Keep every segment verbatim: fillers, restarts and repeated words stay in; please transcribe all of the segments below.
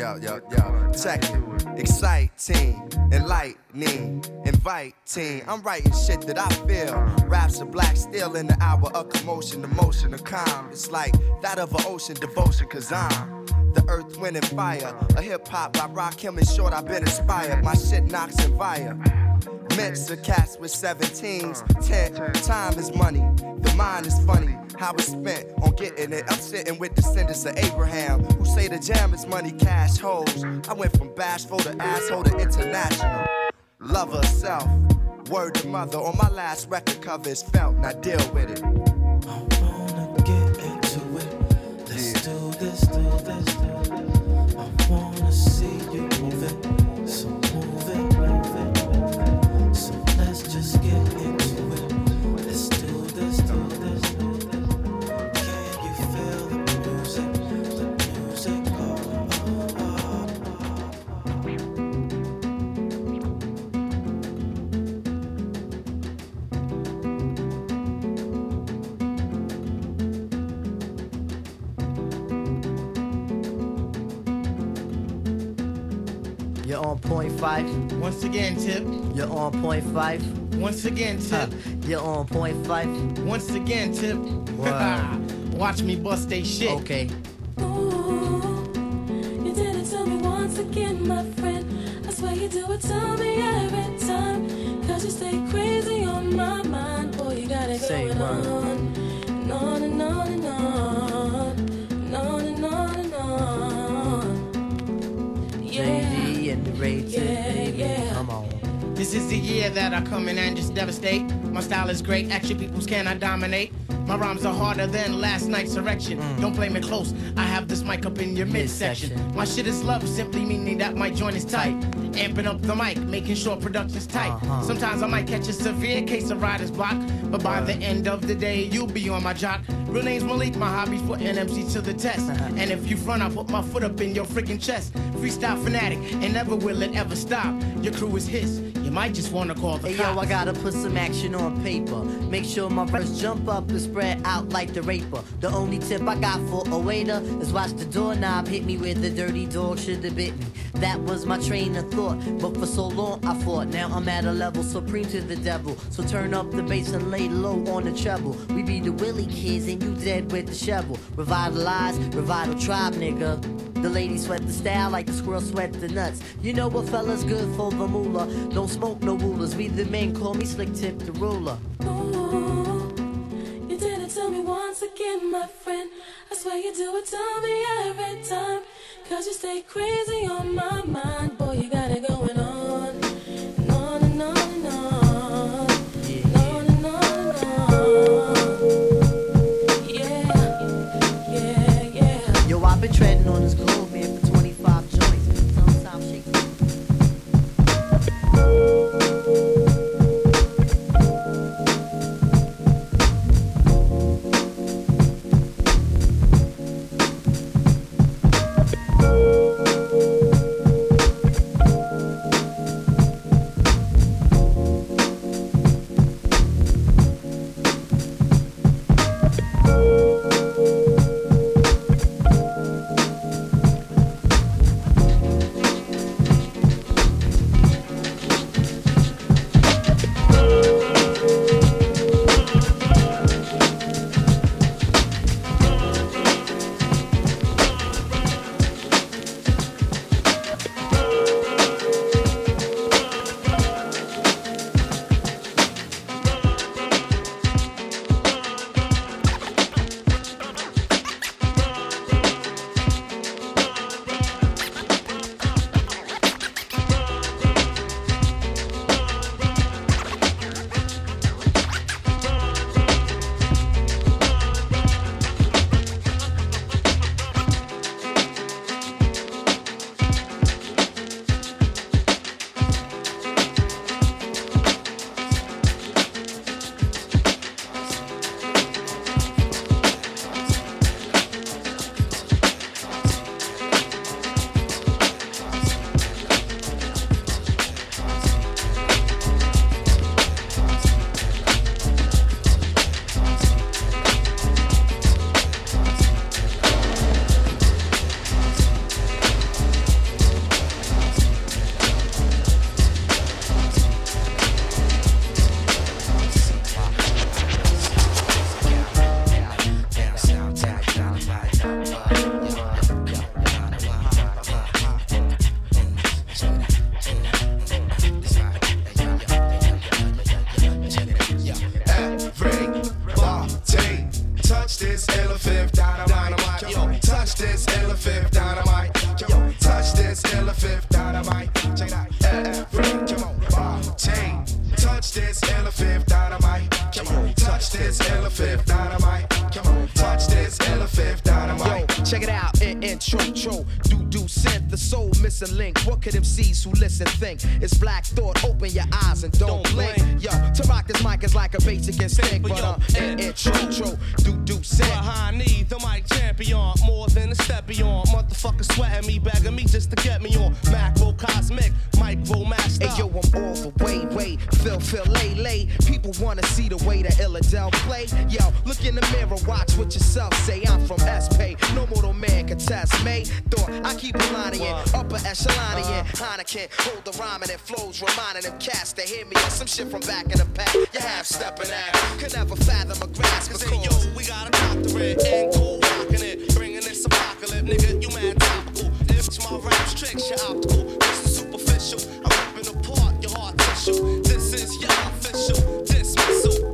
yo, yo, yo. Check it. Exciting, enlightening, inviting. I'm writing shit that I feel. Raps are black steel in the hour of commotion, emotion, of calm. It's like that of an ocean devotion, cause I'm the earth, wind, and fire. A hip hop by Rakim and Short, I've been inspired. My shit knocks and fire. Mix of cats with seventeens. Ten, time is money. The mind is funny. How it's spent on getting it. I'm sitting with descendants of Abraham who say the jam is money, cash, hoes. I went from bashful to asshole to international. Lover of self. Word to mother. On my last record cover is felt. Now deal with it. I wanna get into it. Let's yeah. do this, do this, do this. I wanna see you move it. So move it, move it. So let's just get into it. Let's do this, do this, do this. Can you feel the music? The music, oh, oh, oh, You're on point five. Once again, Tip. You're on point five. Once again, Tip. Uh, you're on point five. Once again, Tip. Watch me bust they shit. Okay. Ooh, you did it to me once again, my friend. I swear you do it to me every time. Cause you stay crazy on my mind. Boy, you got it Say going word. on. And on and on and on. And on and on and on. Yeah. J D and the Ray Tip, Yeah, baby. yeah. Come on. This is the year that I come in and just devastate. My style is great, action peoples cannot dominate. My rhymes are harder than last night's erection. Mm. Don't play me close, I have this mic up in your midsection. Midsection. My shit is love, simply meaning that my joint is tight. Amping up the mic, making sure production's tight. Uh-huh. Sometimes I might catch a severe case of writer's block, but by the end of the day, you'll be on my jock. Real name's Malik, my hobby's putting M C to the test. And if you front, I'll put my foot up in your freaking chest. Freestyle fanatic, and never will it ever stop. Your crew is his, you might just wanna call the Hey cops. yo, I gotta put some action on paper. Make sure my verse jump up and spread out like the raper. The only tip I got for a waiter is watch the doorknob hit me where the dirty dog should have bit me. That was my train of thought, but for so long I fought. Now I'm at a level supreme to the devil. So turn up the bass and lay low on the treble. We be the Willie kids and you dead with the shovel. Revitalize, revital tribe, nigga. The ladies sweat the style like the squirrel sweat the nuts. You know what fella's good for the moolah. Don't smoke no rulers. We the men call me Slick Tip the ruler. Ooh, you did it to me once again, my friend. I swear you do it to me every time. Cause you stay crazy on my mind. Boy, you got it going on. And on and on and on. Yeah. And on and on and on. Yeah, yeah, yeah. Yo, I've been treading on this globe here for twenty-five joints. Sometimes shake. Check it out, in intro, tro, do do synth, the soul missing link. What could M Cs who listen think? It's Black Thought, open your eyes and don't, don't blink. blink. Yo, to rock this mic is like a basic instinct, but uh, in intro, tro, do do synth. Behind me, the mic champion, more than a step beyond. Motherfucker sweating me, begging me just to get me on. Macro cosmic, micro master. Hey yo, I'm all the way, way, Phil, Phil, lay, lay. People wanna see the way that Illadel play. Yo, look in the mirror, watch what yourself say. I'm from S-Pay, no mortal man can test me. Thought I keep a line in, upper echelon in. Heineken, hold the rhyming and flows, reminding them cats to hear me. Some shit from back in the past, you half stepping at. Could never fathom a grasp. Cause hey, yo, we got a doctorate and cool rocking it. Bringing this apocalypse, nigga, you mad topical. If my raps tricks, you're optical. This is superficial, I'm ripping apart your heart tissue. This is your official dismissal.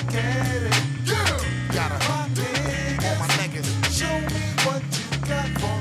Gotta, all my niggas, show me what you got for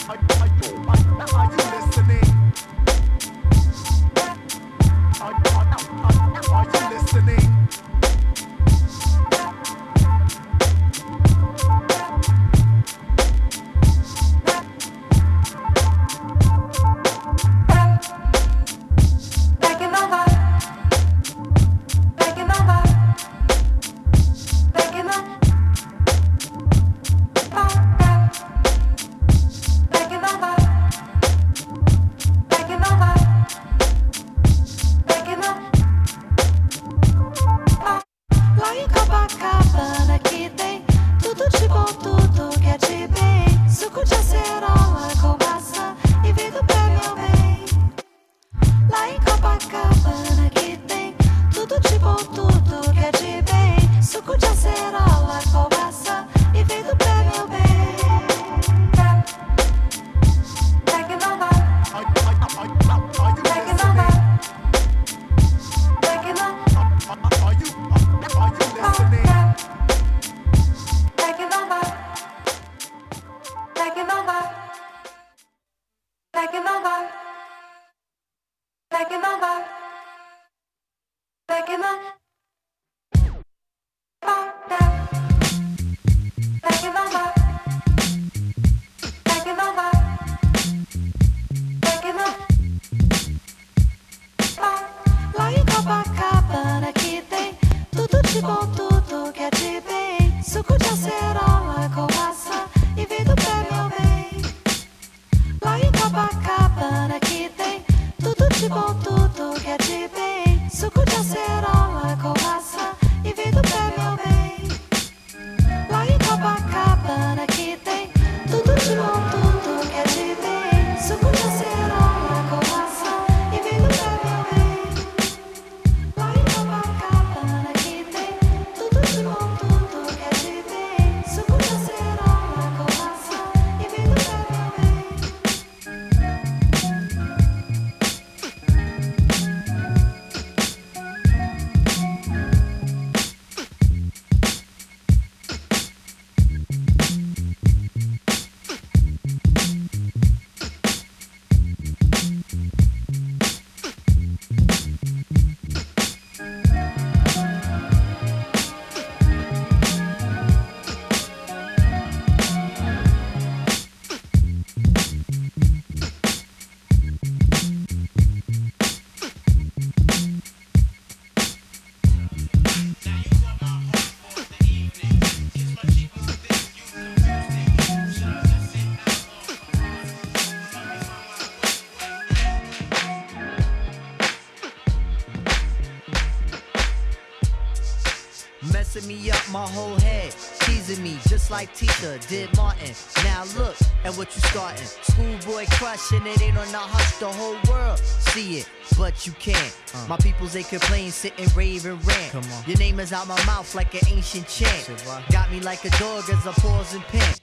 Messing me up my whole head, teasing me just like Tita did Martin. Now look at what you starting. Schoolboy crushing it ain't on the hush, the whole world see it, but you can't. Uh. My peoples they complain, sit and rave and rant. Come on. Your name is out my mouth like an ancient chant. Got me like a dog as I pause and pant.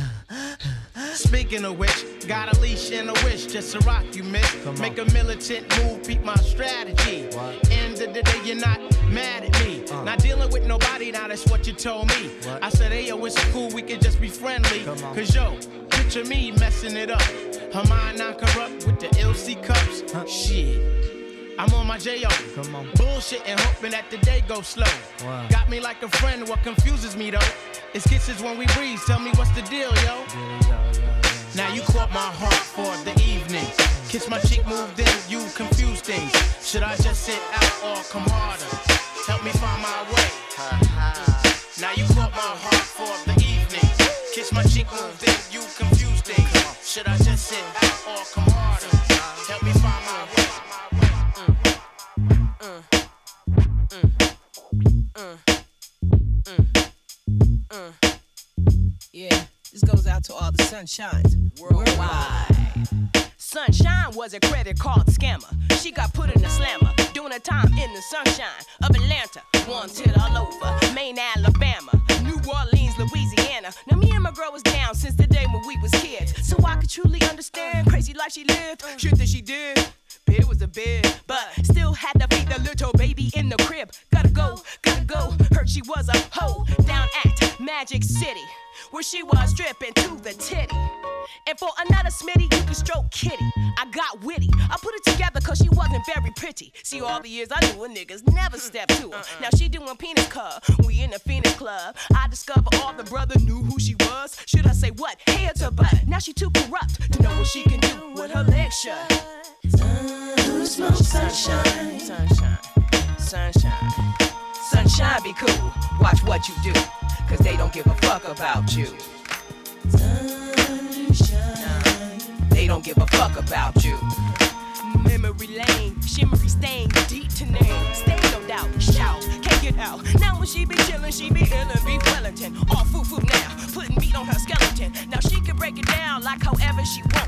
Speaking of which, got a leash and a wish just to rock you, miss. Make a militant move, peep my strategy. What? End of the day, you're not mad at me. Uh. Not dealing with nobody, now that's what you told me. What? I said, hey, yo, it's cool, we can just be friendly. Cause yo, picture me messing it up. Her mind non-corrupt with the L C cups. Huh? Shit. I'm on my J O. Come on. Bullshit and hoping that the day goes slow. Wow. Got me like a friend, what confuses me though? It's kisses when we breathe, tell me what's the deal, yo? Yeah, yeah, yeah, yeah. Now you caught my heart for the evening. Kiss my cheek, moved in, you confuse things. Should I just sit out or come harder? Help me find my way. Now you caught my heart for the evening. Kiss my cheek, moved in, you confuse things. Should I just sit out or come harder? Help me find my way. Mm. Mm. Mm. Mm. Uh, yeah, this goes out to all the sunshines worldwide. Sunshine was a credit card scammer. She got put in a slammer, doing her time in the sunshine of Atlanta. Wanted all over, Maine, Alabama, New Orleans, Louisiana. Now me and my girl was down since the day when we was kids, so I could truly understand crazy life she lived. Shit that she did. It was a bit, but still had to feed the little baby in the crib. Gotta go, gotta go. Heard she was a hoe down at Magic City, where she was stripping to the titty. And for another Smitty, you can stroke Kitty. I got witty. I put it together cause she wasn't very pretty. See, all the years I knew her, niggas never stepped to her. Now she doing penis cub. We in the Phoenix Club. I discovered all the brother knew who she was. Should I say what? Head to butt. Now she too corrupt to know what she can do with her legs shut. Sunshine, sunshine, sunshine, sunshine. Sunshine be cool. Watch what you do. Cause they don't give a fuck about you. Sunshine. They don't give a fuck about you. Memory lane, shimmery stain, deep to name. Stay no doubt, shout, can't get out. Now when she be chillin', she be illin', be Wellington. All foo foo now, putting meat on her skeleton. Now she can break it down like however she want.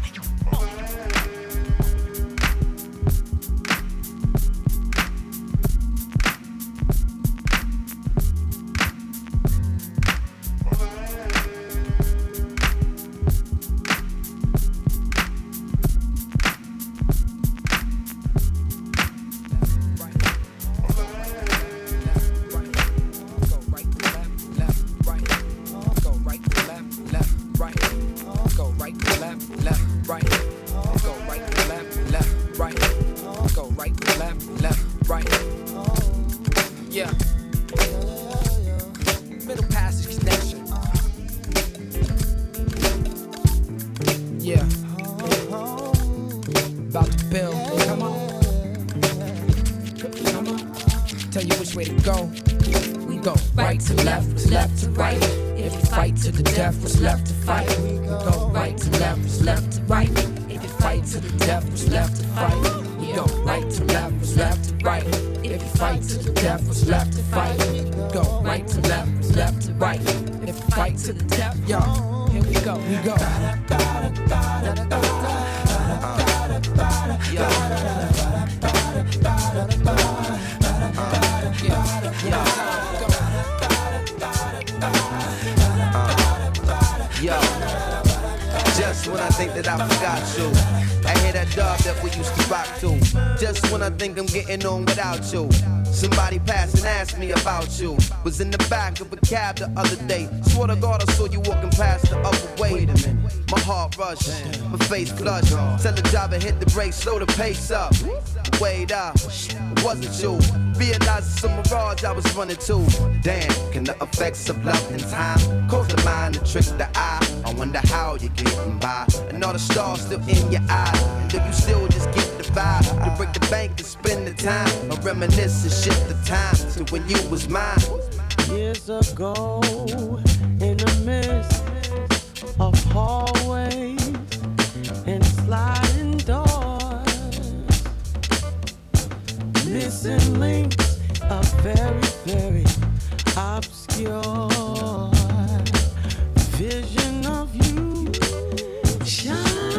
On without you. Somebody passed and asked me about you. Was in the back of a cab the other day. Swore to God I saw you walking past the other way. Wait a minute. My heart rushed, my face flushed. Tell the driver hit the brakes, slow the pace up. Wait up, it wasn't you. Realized it's a mirage I was running to. Damn, can the effects of love and time cause the mind to trick the eye? I wonder how you're getting by. And all the stars still in your eyes. And do you still just get the vibe to break the bank and spend the time? Or reminisce and shift the time to when you was mine. Years ago, in the midst of hallways and sliding doors, missing links are very, very obscure. Vision of you shine,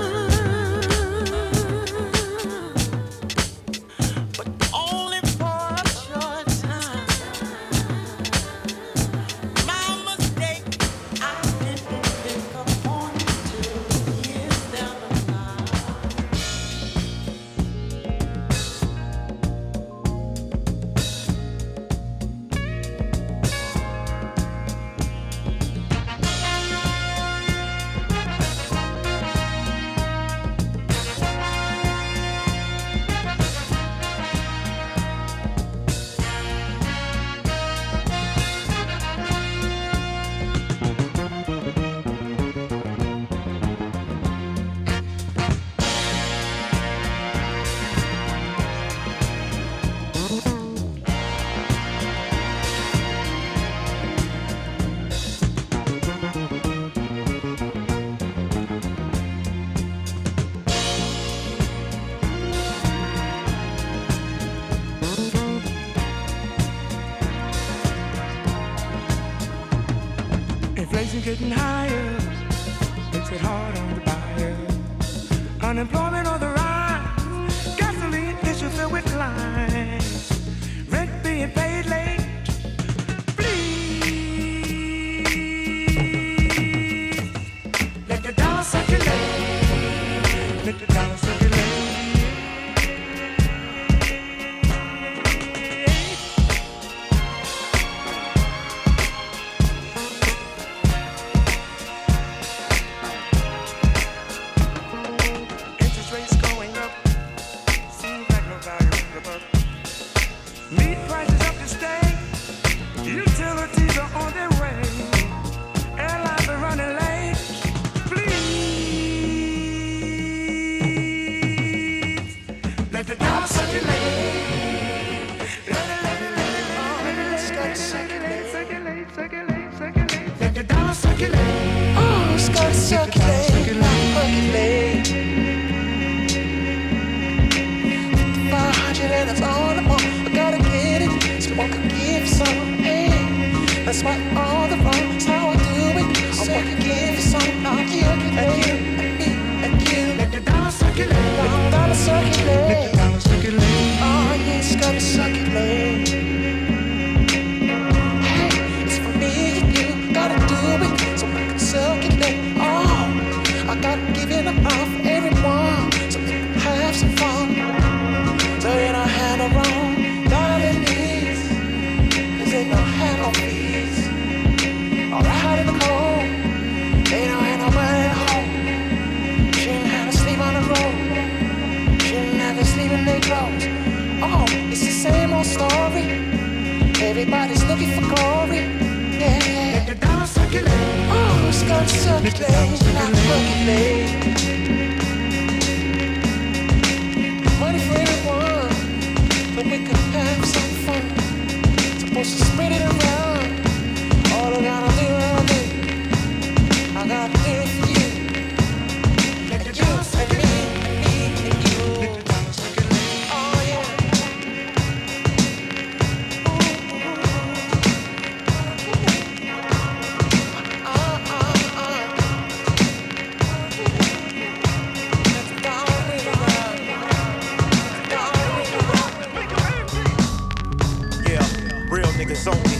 but only for a short time. My mistake, I didn't think upon you till years down the line. Inflation getting higher, makes it hard on the buyer. Unemployment on the rise, gasoline issues filled with lines, rent being paid late. Please let the dollar circulate, let the dollar circulate. leaving them out for everyone, so we can have some fun. So you don't have no wrong, darling needs, cause they don't have no peace. All out in the cold, they don't have nobody at home. Shouldn't have to sleep on the road, shouldn't have to sleep in their clothes. Oh, it's the same old story. Everybody's looking for glory. Yeah, yeah. Let the dollar circulate. Oh, it's gonna circulate, not percolate. Money for everyone, but we could have some fun. Supposed to spread it around. All I gotta do, I do. I gotta do it for you. Let the dollar circulate. Me and you. Let the dollar circulate. Oh yeah. Niggas only.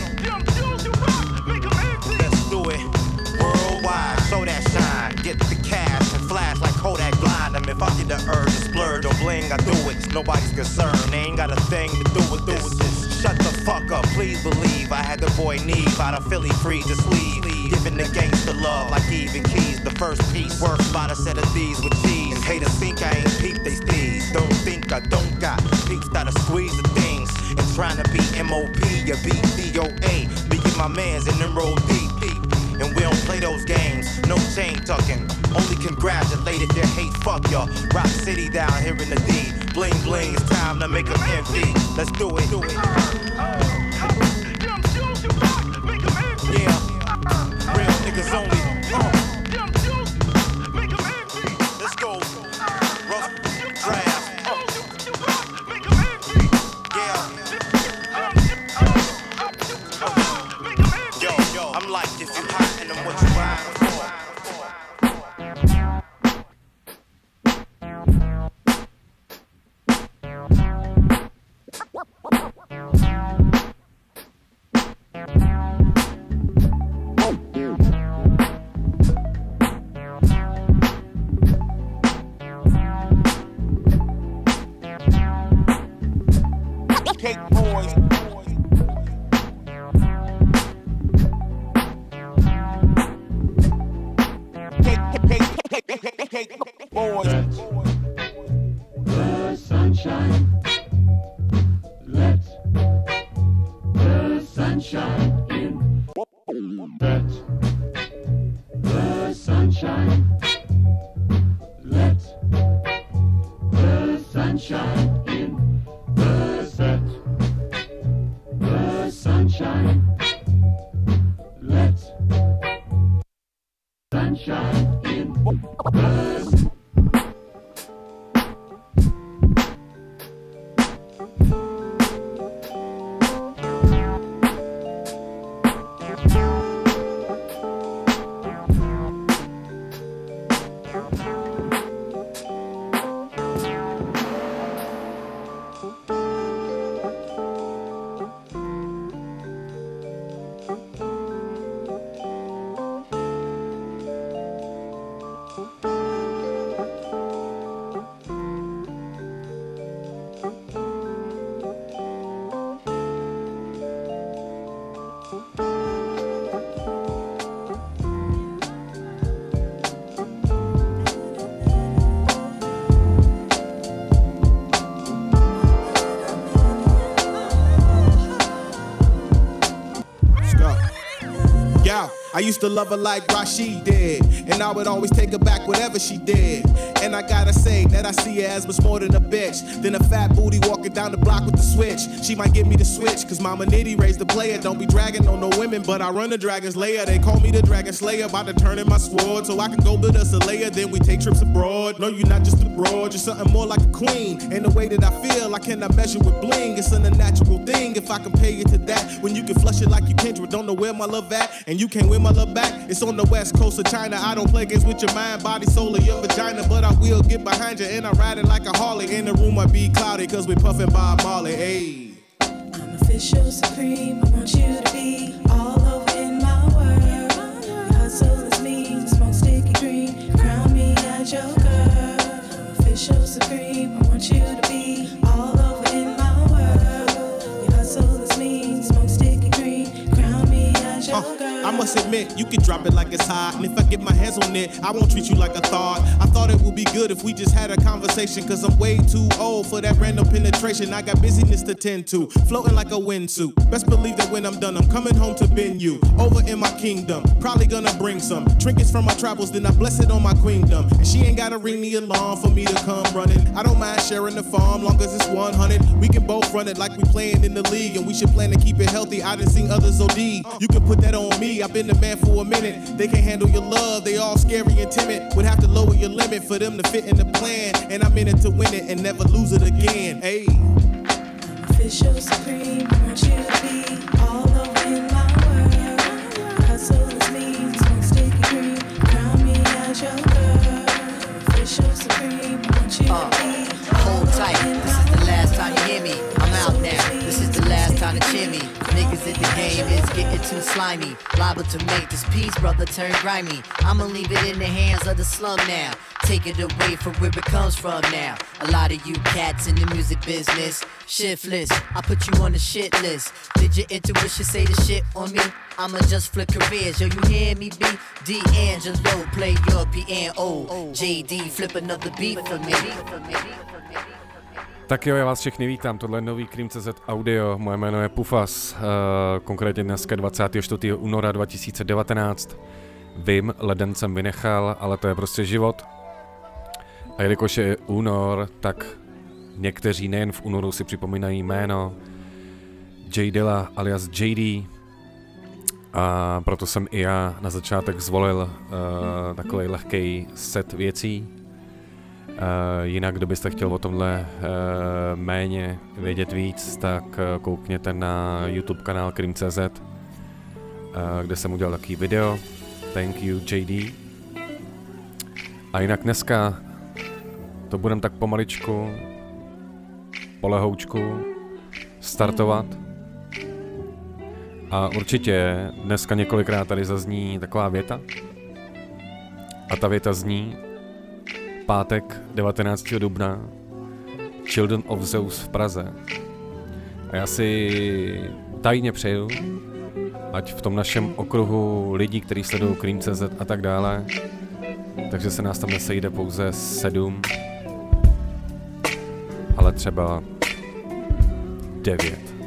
Let's do it worldwide. Show that shine. Get the cash and flash like Kodak blind them. If I get the urge to splurge or bling, I do it. It's nobody's concern. They ain't got a thing to do with this. Shut the fuck up. Please believe I had the boy Neve out of Philly free. Just leave. Giving the gangster love like even keys. The first piece worth about a set of these with cheese. And haters think I ain't peep they steez. Don't think I don't got peeps that'll squeeze the things. And trying to be M O P or B D O A. Me and my mans in them roll deep, deep. And we don't play those games, no chain tucking. Only congratulate if you hate, fuck y'all. Rock City down here in the D. Bling bling, it's time to make them envy. Let's do it, do it. Yeah, real niggas only. Uh. Let's go. Rough draft. I'm like, if you hot and I'm what you riding for. Cake boys. Boys. The sunshine. Let the sunshine in. Let the sunshine. Let the sunshine in. The set. The sunshine. Let sunshine in. The I used to love her like Rashid did, and I would always take her back whatever she did. And I gotta say that I see her as much more than a bitch, than a fat booty walking down the block with the switch. She might give me the switch, cause Mama Nitty raised the player. Don't be dragging on no women, but I run the Dragon's Lair. They call me the Dragon Slayer, about to turn in my sword, so I can go build us a layer, then we take trips abroad. No, you're not just a broad, you're something more like a queen. And the way that I feel, I cannot measure with bling. It's an unnatural thing if I compare you to that. When you can flush it like you Kendrick, don't know where my love at, and you can't win my love back. It's on the west coast of China. I don't play games with your mind, body, soul, or your vagina, but I will get behind you and I ride it like a Harley. In the room might be cloudy cause we puffin' Bob Marley. Hey, I'm official supreme. I want you to be all over in my world. Your hustle is me, smoke sticky green. Crown me as as your girl. Official supreme, I want you to be all over in my world. We hustle as me, smoke sticky green, crown me as your Uh, girl. I must admit, you can drop it like it's hot, and if I get my hands on it, I won't treat you like a thought. I thought it would be good if we just had a conversation, cause I'm way too old for that random penetration. I got busyness to tend to, floating like a windsuit. Best believe that when I'm done, I'm coming home to bend you over in my kingdom. Probably gonna bring some trinkets from my travels, then I bless it on my queendom. And she ain't gotta ring the alarm for me to come running. I don't mind sharing the farm, long as it's one hundred. We can both run it like we playing in the league, and we should plan to keep it healthy. I done seen others O D. You can put that on me, I've been the man for a minute. They can't handle your love, they all scary and timid. Would have to lower your limit for them to fit in the plan. And I'm in it to win it and never lose it again. Hey. Official supreme, I want you to be all over in my world. Hustle is me, smoke sticky green, crown me as your girl. Official supreme, I want you Uh, to be hold tight, this is the last time you hear me. I'm out now, this is the last time to cheer me. Niggas in the game is getting too slimy. Liable to make this piece, brother, turn grimy. I'ma leave it in the hands of the slum now. Take it away from where it comes from now. A lot of you cats in the music business, shiftless, I put you on the shit list. Did your intuition say the shit on me? I'ma just flip careers, yo, you hear me, B? D'Angelo, play your piano. J D, flip another beat for me. Tak jo, já vás všechny vítám, tohle je nový Cream tečka cé zet audio, moje jméno je Pufas, uh, konkrétně dneska dvacátého čtvrtého února dva tisíce devatenáct. Vím, leden jsem vynechal, ale to je prostě život. A jelikož je únor, tak někteří nejen v únoru si připomínají jméno J Dilla alias J D. A proto jsem i já na začátek zvolil uh, takový lehký set věcí. Uh, jinak, kdo byste chtěl o tomhle uh, méně vědět víc, tak uh, koukněte na YouTube kanál Cream tečka cé zet, uh, kde jsem udělal takový video. Thank you J D. A jinak dneska to budem tak pomaličku, polehoučku startovat. A určitě dneska několikrát tady zazní taková věta. A ta věta zní: pátek devatenáctého dubna, Children of Zeus v Praze. A já si tajně přeju, ať v tom našem okruhu lidí, kteří sledují Cream tečka cé zet a tak dále, takže se nás tam nesejde pouze sedm, ale třeba devět.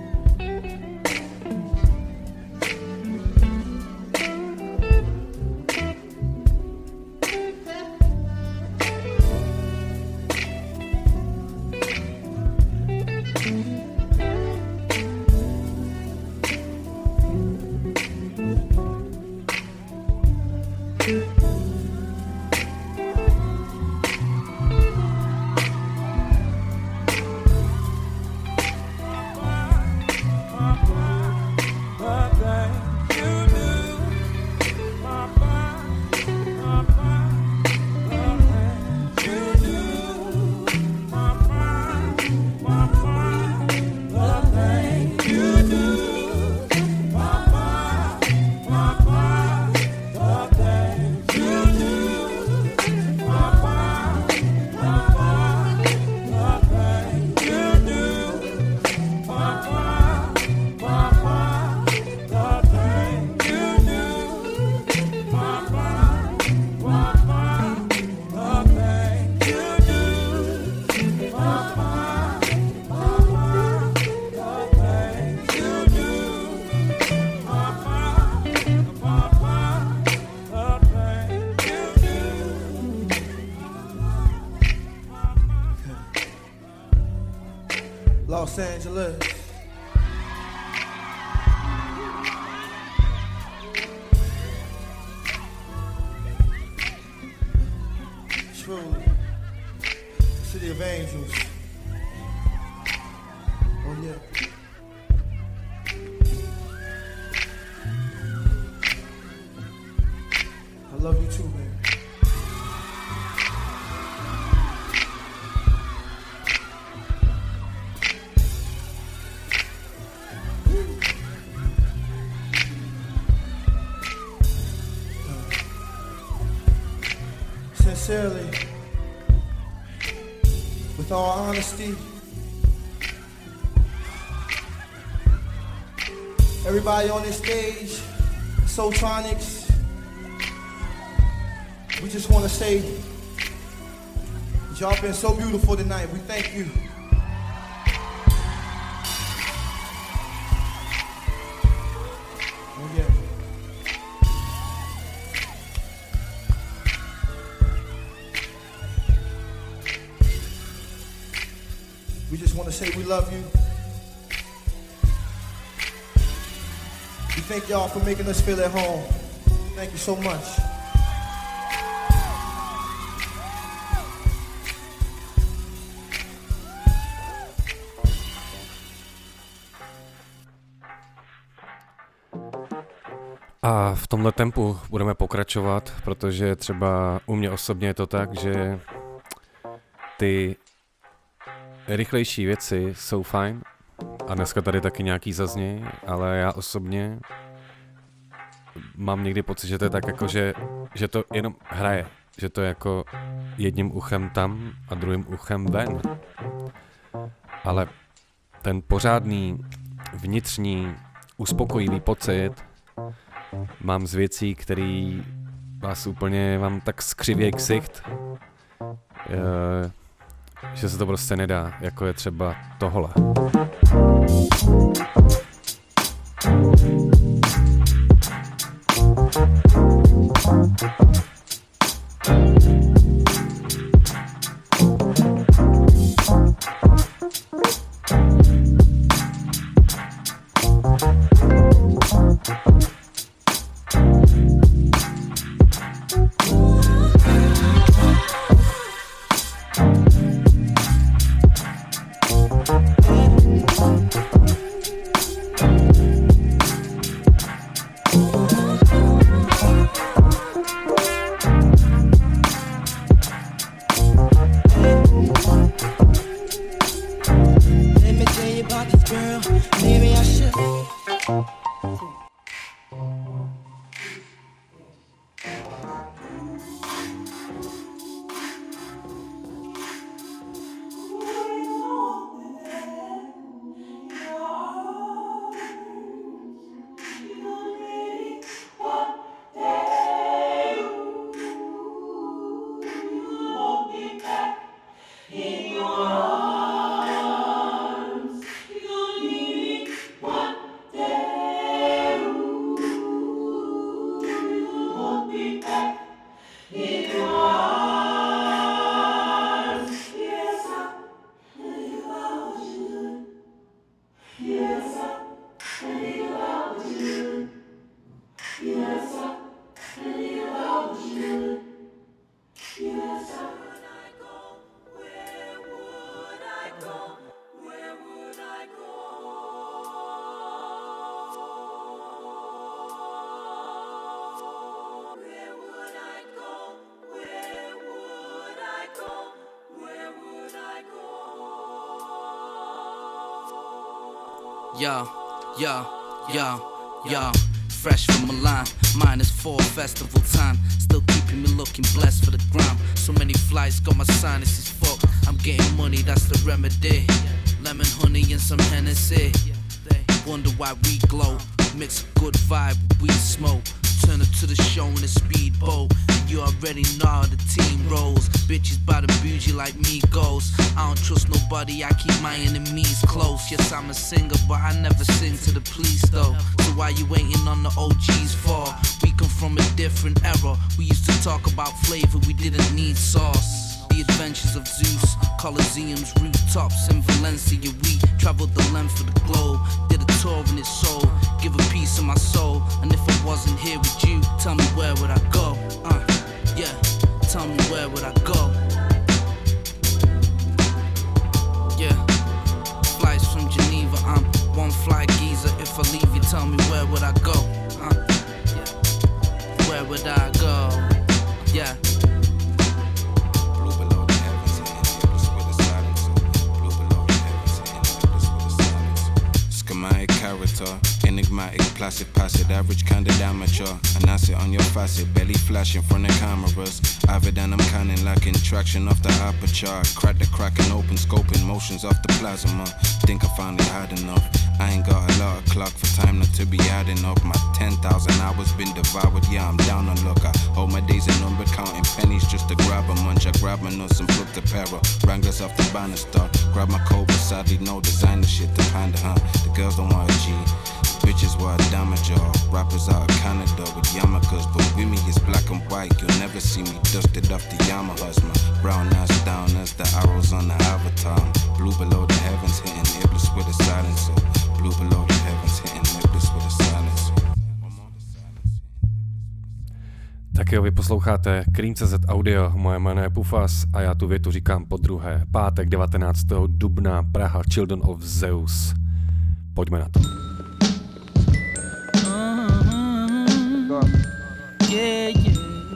Los Angeles. Truly, City of Angels. Oh yeah. I love you too, man. Sincerely, sincerely, with all honesty, everybody on this stage, Soultronics, we just want to say y'all been so beautiful tonight. We thank you. Oh, yeah. We just want to say we love you. We thank y'all for making us feel at home. Thank you so much. A v tomhle tempu budeme pokračovat, protože třeba u mě osobně je to tak, že ty rychlejší věci jsou fajn a dneska tady taky nějaký zazněj, ale já osobně mám někdy pocit, že to je tak jako, že, že to jenom hraje, že to je jako jedním uchem tam a druhým uchem ven. Ale ten pořádný vnitřní uspokojivý pocit mám z věcí, který vás úplně vám tak skřivěj ksicht, e, že se to prostě nedá, jako je třeba tohle. Yo, yo, yo, yo, fresh from Milan, minus four festival time, still keeping me looking blessed for the gram. So many flights, got my sinuses fucked. I'm getting money, that's the remedy. Lemon honey and some Hennessy. Wonder why we glow. Mix a good vibe with weed smoke. Turn up to the show in a speedboat. And you already know how the team rolls. Bitches by the bougie like me goes. I don't trust nobody, I keep my enemies close. Yes, I'm a singer, but I never sing to the police though. So why you waiting on the O Gs for? We come from a different era. We used to talk about flavor, we didn't need sauce. The adventures of Zeus, Colosseums, rooftops in Valencia. We traveled the length of the globe, did a tour in its soul, give a piece of my soul. And if I wasn't here with you, tell me where would I go? Uh, yeah, tell me where would I go? Yeah, flights from Geneva, I'm one fly geezer. If I leave you, tell me where would I go? Uh, yeah, where would I go? Yeah. Schematic character, enigmatic classic, pass it, average kind of amateur. And I sit on your facet, belly flashing from the cameras. Avid and I'm canning, lacking traction off the aperture. Crack the crack and open scoping motions off the plasma. Think I finally had enough. I ain't got a lot of clock for time not to be adding up. My ten thousand hours been devoured, yeah, I'm down on luck. I hold my days in number, counting pennies just to grab a munch. I grab my nuts and flip the para. Wranglers off the banister. Grab my coat, but sadly no designer shit to panda, huh? The girls don't want a G. The bitches want a damage, y'all. Rappers out of Canada with yarmulkes, but with me it's black and white. You'll never see me dusted off the Yamahas. My brown ass down as the arrows on the avatar. Blue below the heavens, hitting Iblis with a silencer. Blue below the heavens, hitting Iblis with a silencer. Tak jo, vy posloucháte Cream tečka cé zet Audio, moje jméno je Pufas a já tu větu říkám po druhé. Pátek devatenáctého dubna, Praha, Children of Zeus. Pojďme na to. Yeah, yeah.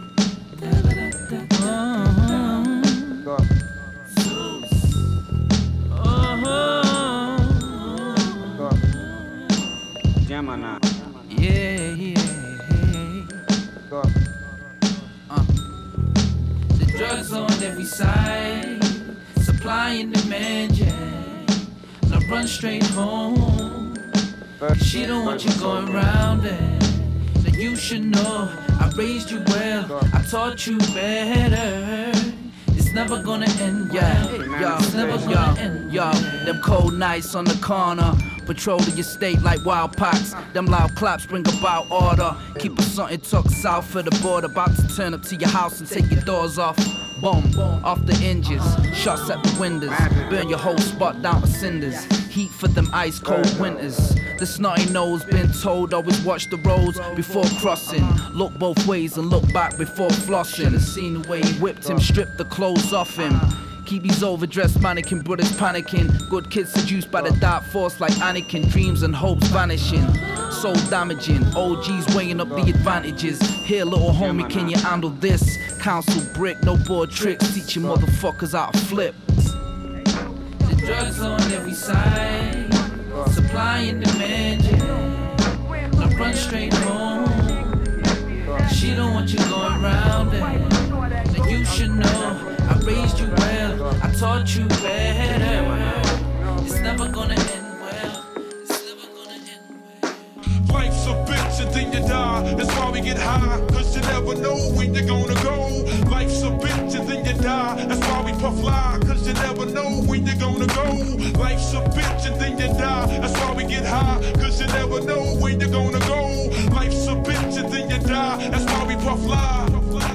Gemini. Yeah, yeah. Uh. The drugs on every side, supply and demand, yeah. Now run straight home. She don't want you going round it. Now you should know I raised you well, I taught you better. It's never gonna end, yeah. Yo, it's never gonna end, yo. Them cold nights on the corner, patrol the estate like wild pox. Them loud claps bring about order. Keep us something tucked south of the border. About to turn up to your house and take your doors off. Boom, off the hinges, shots at the windows. Burn your whole spot down to cinders. Heat for them ice cold winters. The snotty nose been told always watch the roads before crossing. Look both ways and look back before flossing. Should've seen the way he whipped him, stripped the clothes off him. Keep these overdressed mannequin brothers panicking. Good kids seduced by the dark force like Anakin. Dreams and hopes vanishing, soul damaging. O Gs weighing up the advantages. Here little homie, can you handle this? Council brick, no board tricks. Teaching motherfuckers how to flip. The drugs on every side, supply and demand, yeah. Now run straight home. She don't want you going round it. Now you should know I raised you well, I taught you better. It's never gonna end well. It's never gonna end well. Life's a bitch and then you die. That's why we get high, cause you never know when you're gonna go. Life's a bitch and then you die. That's why we puff fly, cause you never know when you're gonna go. Life's a bitch and then you die. That's why we get high, cause you never know when you're gonna go. Life's a bitch and then you die. That's why we puff fly.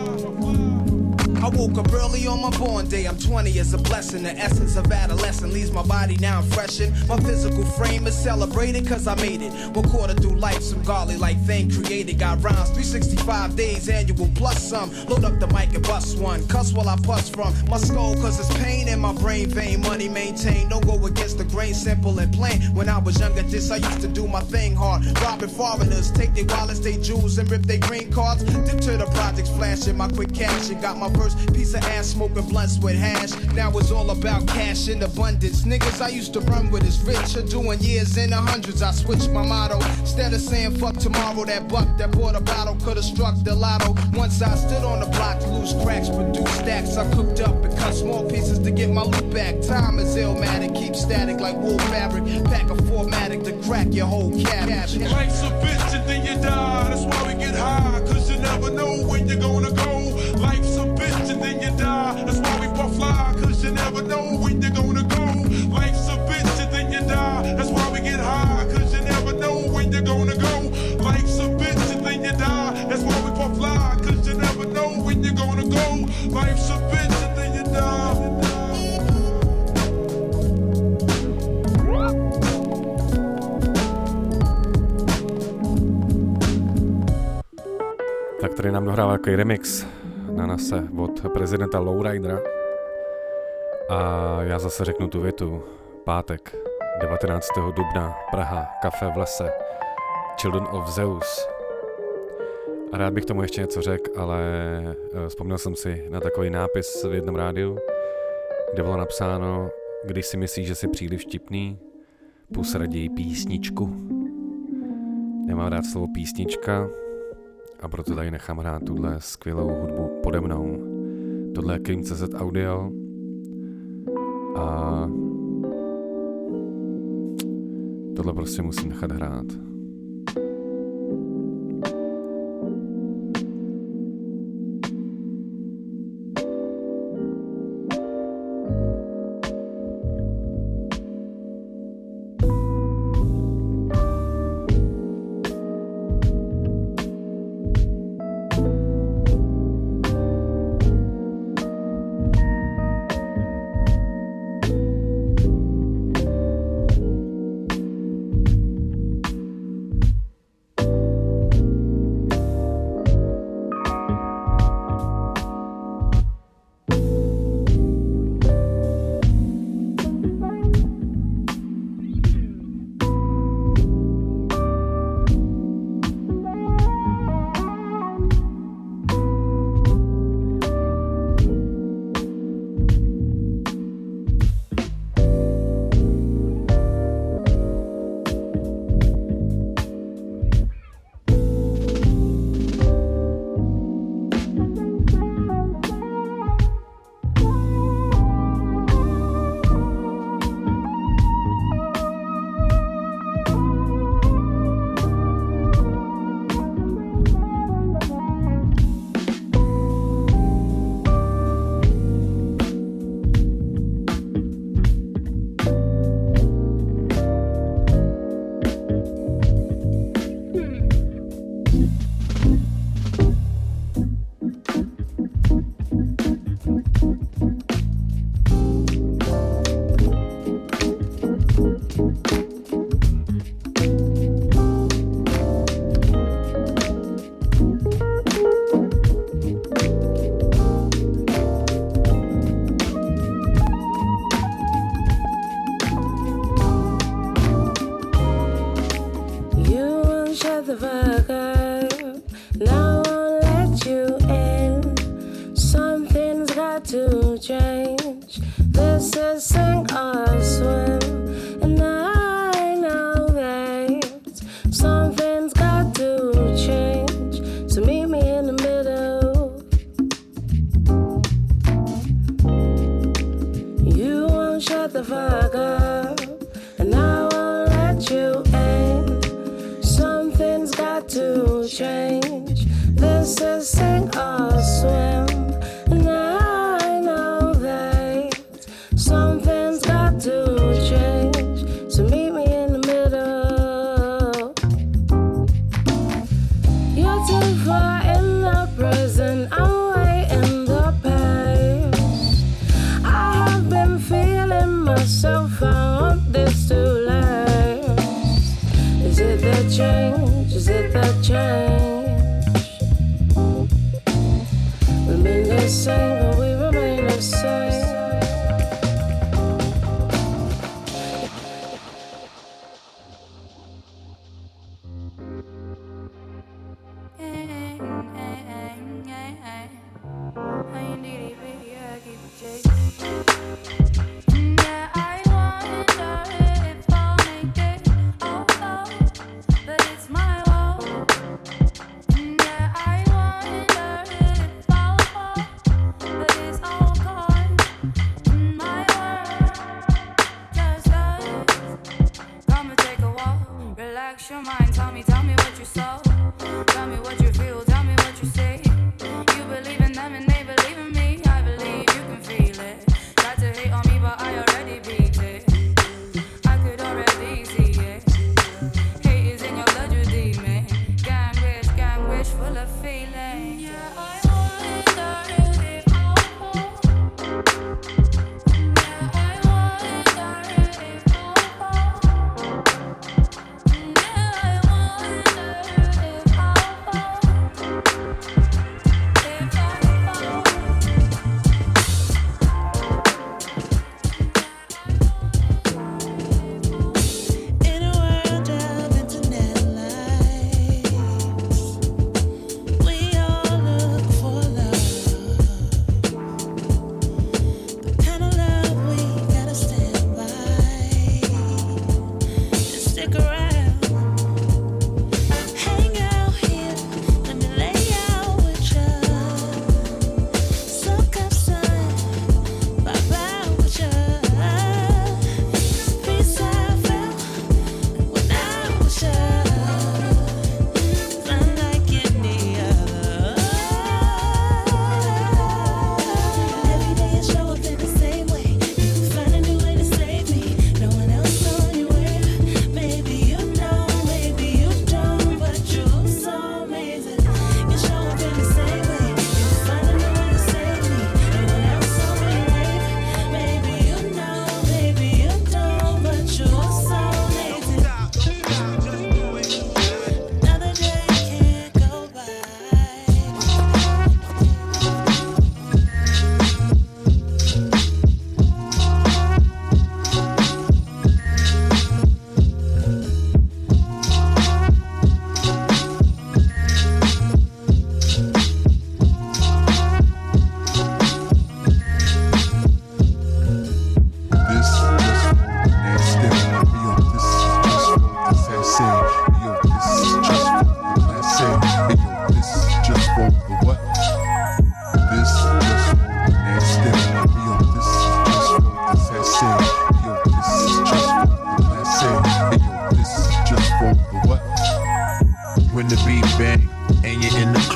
I woke up early on my born day. I'm twenty is a blessing. The essence of adolescence leaves my body now freshened. My physical frame is celebrated cause I made it. One quarter through life, some godly like thing created. Got rhymes, three sixty-five days annual plus some. Load up the mic and bust one. Cuss while I puss from my skull cause it's pain in my brain vein. Money maintained, don't go against the grain, simple and plain. When I was younger, this I used to do my thing hard. Robbing foreigners, take their wallets, they jewels and rip their green cards. Dip to the projects, flashing my quick cash and got my first piece of ass smoking blunts with hash. Now it's all about cash in abundance. Niggas I used to run with is rich are doing years in the hundreds. I switched my motto. Instead of saying fuck tomorrow, that buck that bought a bottle could've struck the lotto. Once I stood on the block to lose cracks, produce stacks. I cooked up and cut small pieces to get my loot back. Time is illmatic, keep static like wool fabric. Pack a formatic to crack your whole cabbage. Life's a bitch and then you die. That's why we get high, cause you never know when you're gonna go. Life's a bitch and then you die. That's why we puff fly, cause you never know when you're gonna go. Life's a bitch and then you die. That's why we get high, cause you never know when you're gonna go. Life's a bitch and then you die. That's why we puff fly, cause you never know when you're gonna go. Life's a bitch and then you die. Tak tady nám dohrává takový remix na nase od prezidenta Lowridera. A já zase řeknu tu větu. Pátek, devatenáctého dubna, Praha, kafe v lese, Children of Zeus. A rád bych tomu ještě něco řekl, ale vzpomněl jsem si na takový nápis v jednom rádiu, kde bylo napsáno, když si myslíš, že jsi příliš vtipný, pus raději písničku. Nemám rád slovo písnička a proto tady nechám hrát tuhle skvělou hudbu pode mnou. Tohle je Cream tečka cé zet Audio a tohle prostě musím nechat hrát. But it's all gone.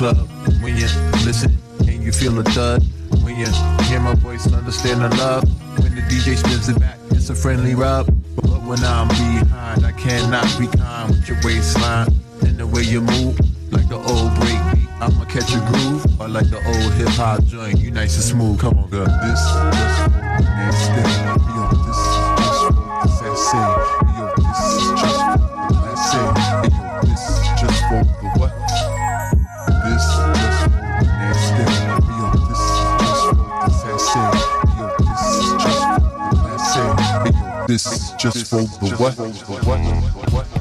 club. When you listen and you feel a thud. When you hear my voice, understand the love. When the D J spins it back, it's a friendly rub. But when I'm behind, I cannot be kind with your waistline and the way you move, like the old break beat. I'ma catch a groove, or like the old hip hop joint. You nice and smooth. Come on, girl. This just for the next day. Yo, this is just for the sensei. Yo, this is just for the last say. Yo, this is just for the what? This just for the next day. Yo, this is just for the sensei. Yo, this is just for the last say. Yo, this is just for the what? The what? The what?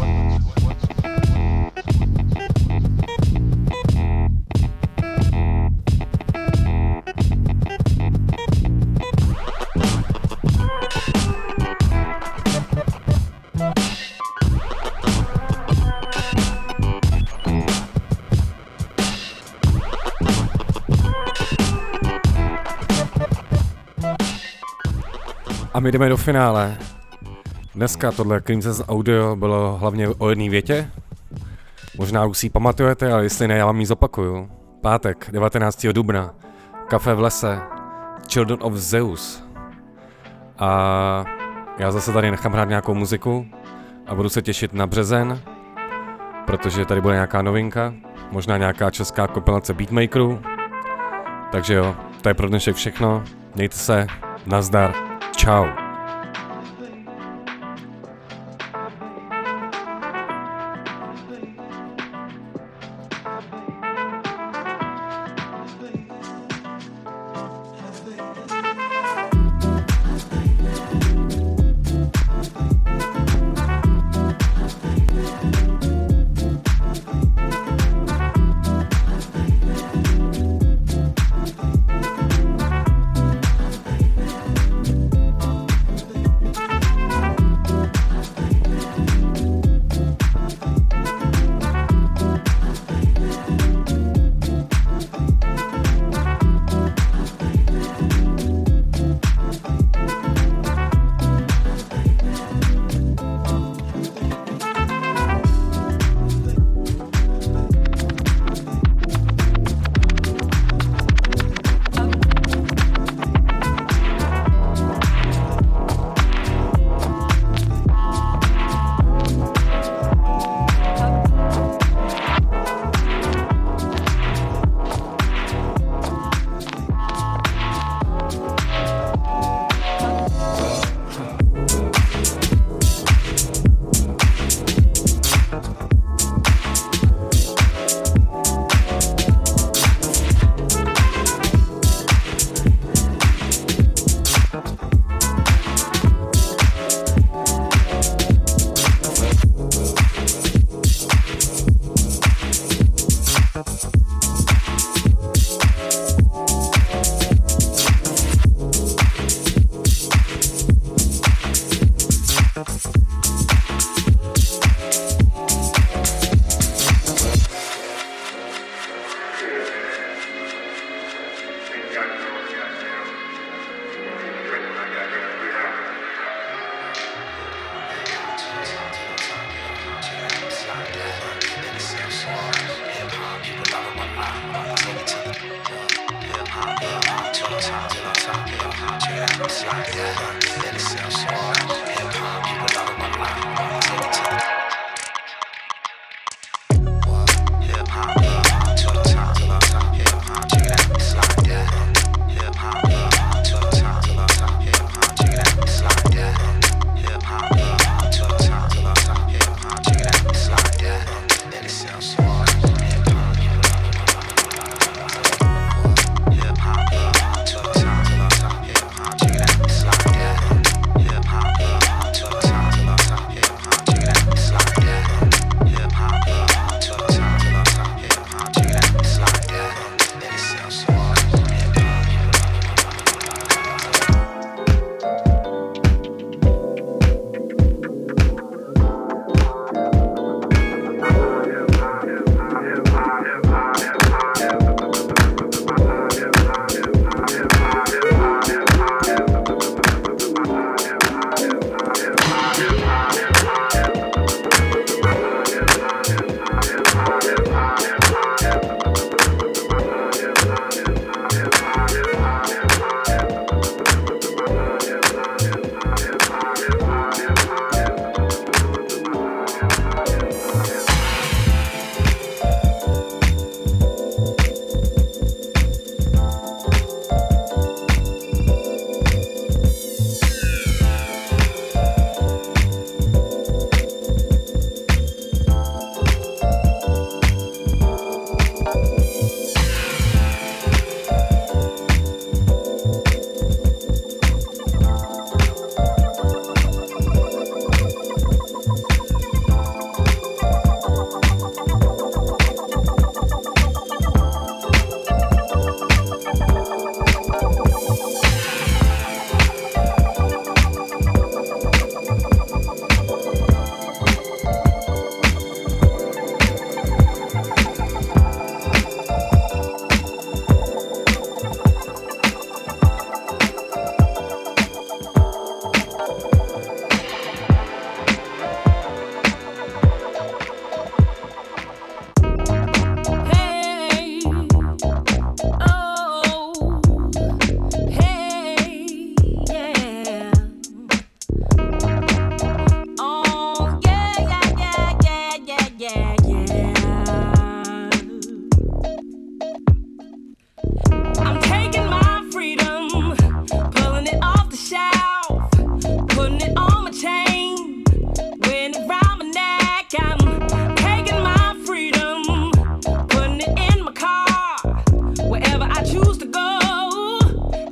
A my jdeme do finále. Dneska tohle Creamses audio bylo hlavně o jedné větě. Možná už si ji pamatujete, ale jestli ne, já vám ji zopakuju. Pátek, devatenáctého dubna. Kafe v lese. Children of Zeus. A já zase tady nechám hrát nějakou muziku a budu se těšit na březen, protože tady bude nějaká novinka, možná nějaká česká kompilace beatmakerů. Takže jo, to je pro dnešek všechno. Mějte se, nazdar. Čau.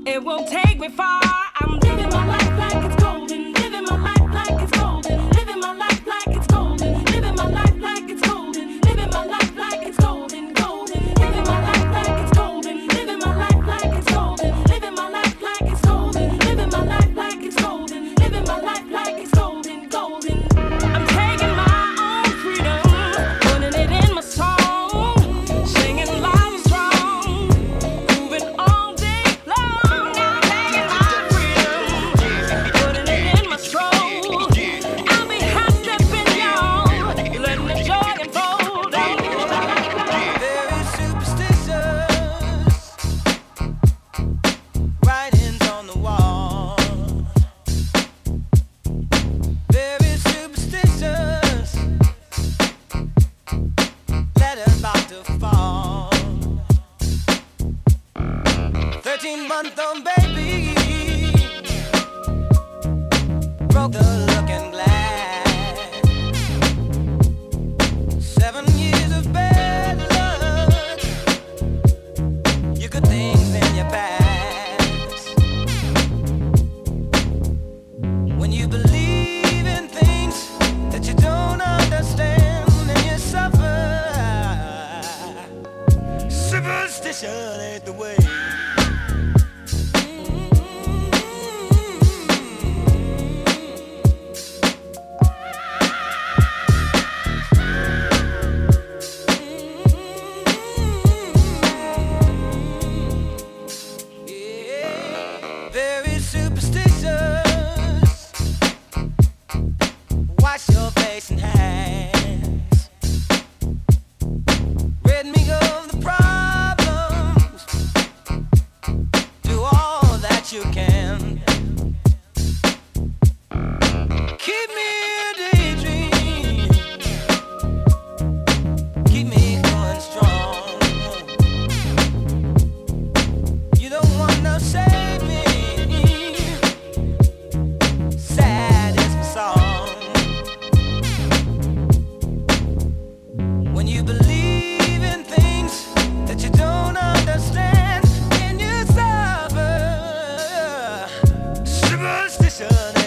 it won't take me far. I'm living my life like it's golden, living my life like it's golden, living my life like it's golden, living my life like it's golden, living my life like it's golden, golden, living my life like it's golden, living my life like it's golden, living my life like it's golden, living my life like it's golden, living my life like it's golden, golden. I'm taking my own freedom, putting it in my song, singing loud and strong, moving all day long. I'm taking my freedom, putting it in my stroll. I'll be hot stepping y'all, letting the joy unfold. Very superstitious, writings on the wall. Very superstitious, letters about to fall. Thirteen month old baby broke the looking glass. Seven years of bad luck, you good things in your past. When you believe in things that you don't understand, then you suffer. Superstition ain't the way. Very superstitious. Wash your face and hands. Rid me of the problems. Do all that you can. Keep me a daydream. Keep me going strong. You don't want no save me. Sad is my song. When you believe in things that you don't understand, then you suffer. Superstition